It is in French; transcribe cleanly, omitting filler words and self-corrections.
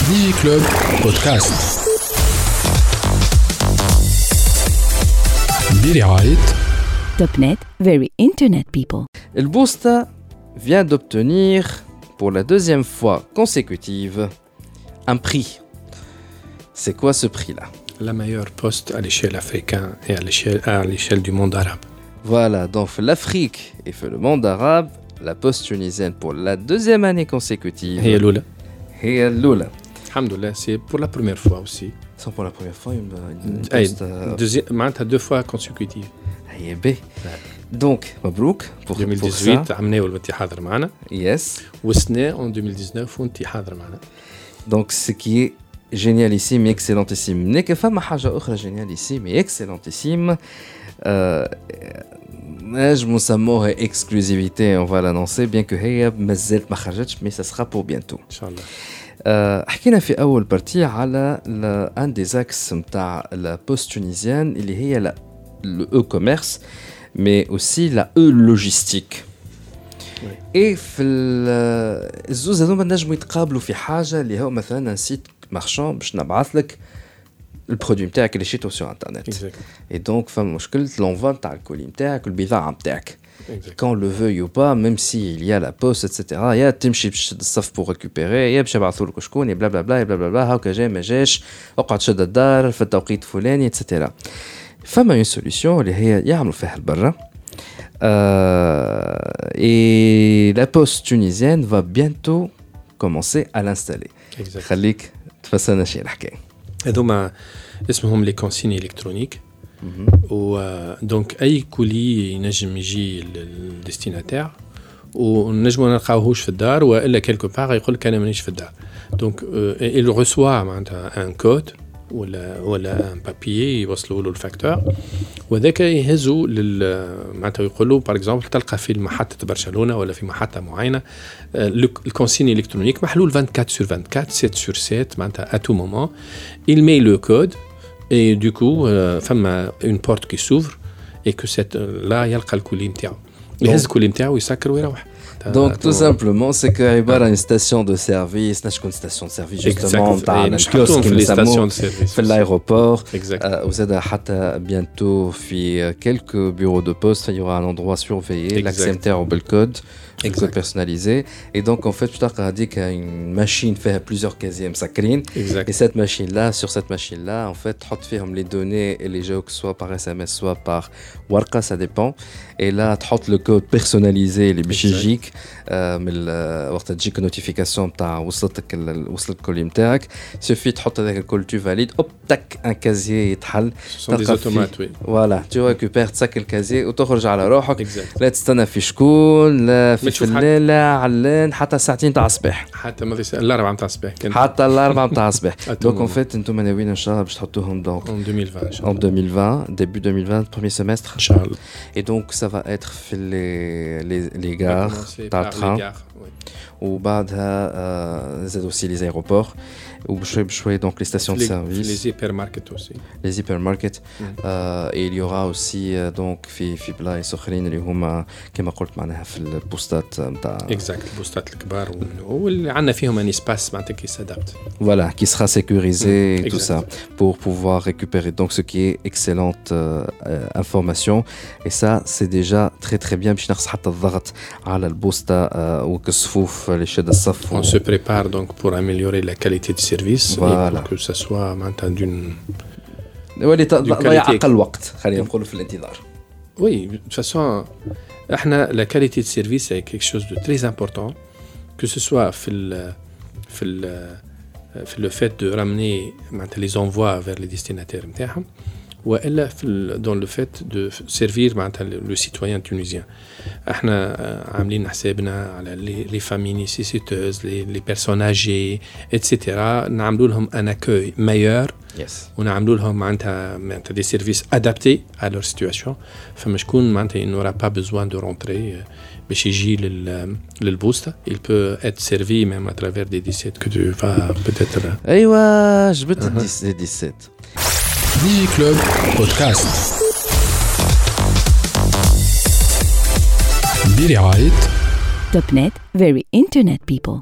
ديجي كلوب بودكاست برعاية Topnet, very internet people. Le Boosta vient d'obtenir pour la deuxième fois consécutive un prix. C'est quoi ce prix-là? La meilleure poste à l'échelle africaine et à l'échelle du monde arabe. Voilà, donc l'Afrique et le monde arabe, la poste tunisienne pour la deuxième année consécutive. هي الأولى. هي الأولى. الحمد لله, c'est pour la première fois aussi. C'est pour la première fois une أي poste. معناتها deux fois consécutive. هي باهي. Donc, مبروك pour 2018 عملناه وانت حاضر معنا. Yes. والسنة en 2019 وانت حاضر معنا. Donc, ce qui est génialissime et excellentissime. N'est que femme حاجة أخرى génialissime et excellentissime. Je me سموها exclusivité, on va l'annoncer, bien que هي مازالت ما خرجتش, mais ça sera pour bientôt. إن شاء الله. حكينا في أول بارتي على un des axes متاع la poste tunisienne اللي هي le e-commerce, mais aussi la e-logistique. Et في الزوز هذوما نجموا يتقابلوا في حاجة اللي هو مثلا un site marchand باش نبعث لك البرودوي نتاعك اللي شريته sur internet. Et donc فما مشكلة l'envoi نتاع الكولي نتاعك والبضاعة نتاعك. Qu'on le veuille ou pas, même s'il y a la poste, etc. Il y a تمشي باش الصف pour récupérer, يا باش يبعثوا لك شكون, بلا بلا بلا بلا بلا هاكا جاي ما جاش, اقعد شد الدار في التوقيت الفلاني, etc. فما une solution اللي هي يعملوا فيها البرة. Et la poste tunisienne va bientôt commencer à l'installer. خليك تفسرنا شي الحكاية. هذوما اسمهم لي كونسيني الكترونيك. دونك اي كولي ينجم يجي للديستيناتير ونجمو نلقاوهوش في الدار والا كيلكو بار يقول لك انا مانيش في الدار. دونك il reçoit معناتها ان كود ولا ان بابيي يوصلوا له الفاكتور, وذاك يهزوا معناتها يقولوا باغ اكزومبل تلقى في محطه برشلونه ولا في محطه معينه الكونسيني الكترونيك محلول 24 sur 24 7 sur 7 معناتها à tout moment il met le code. Et du coup, فما une porte qui s'ouvre et que là يلقى الكولي نتاعو. يهز الكولي نتاعو يسكر ويروح. Donc tout simplement c'est que عبارة عن station de service, نشكون station de service justement نتاع الكيوسك اللي نسموه في l'aéroport. وزاد حتى bientôt في quelques bureaux de poste il y aura un endroit surveillé, l'accès نتاعو بالكود. Exact. Personnalisé. Et donc, en fait, tu as dit qu'il y a une machine fait plusieurs casiers مسكرين. Et cette machine-là, sur cette machine-là, en fait, tu as les données et les jeux, soit par SMS, soit par Warqa, ça dépend. Et là, tu as le code personnalisé, les bichigiques. وقت تجيك نوتيفيكاسيون تاع وصلت الكولي نتاعك سوفي تحط هذاك الكل تو فاليد اوب تك ان كازيي يتحل فوالا تو ريكوبير تسكر الكازيي وتخرج على روحك. لا تستنى في شكون, لا في فلان, لا علان, حتى ساعتين تاع الصباح, حتى ما في الاربعه تاع الصباح, حتى الاربعه تاع الصباح. دونك اون فيت انتم ناويين ان شاء الله باش تحطوهم دونك en 2020 début 2020 premier semestre ان شاء الله. Et donc ça va être في les gares تاع التران وبعدها زاد aussi les aéroports وبشوي donc les stations de service, les hypermarkets aussi, les hypermarkets. Et il y aura aussi donc في بلايص اخرين اللي هما كما قلت معناها في البوستات نتاع البوستات الكبار واللي عندنا فيهم ان اسباس معناتها كي سادابت voilà qui sera sécurisé et tout ça pour pouvoir récupérer donc ce qui est excellente information. Et ça c'est déjà très très bien باش نقص حتى الضغط على البوستا وكصفوف لشد الصف. On se prépare donc pour améliorer la qualité de service et pour que ça soit maintenant d'une ضيع أقل وقت خلينا نقول في الانتظار. Oui, de toute façon احنا la qualité de service est quelque chose de très important, que ce soit في le fait de ramener les envois vers les destinataires نتاعهم وإلا dans le fait de servir le citoyen tunisien. احنا عاملين حسابنا على les familles nécessiteuses, les personnes âgées, etc. نعملوا لهم un accueil meilleur. ونعملوا لهم معناتها des services adaptés à leur situation. فما شكون معناتها il n'aura pas besoin de rentrer باش يجي للبوستا. Il peut être servi même à travers des 17 que tu vas peut-être. ايوه جبت 17. ديجي كلوب بودكاست برعاية Topnet, very internet people.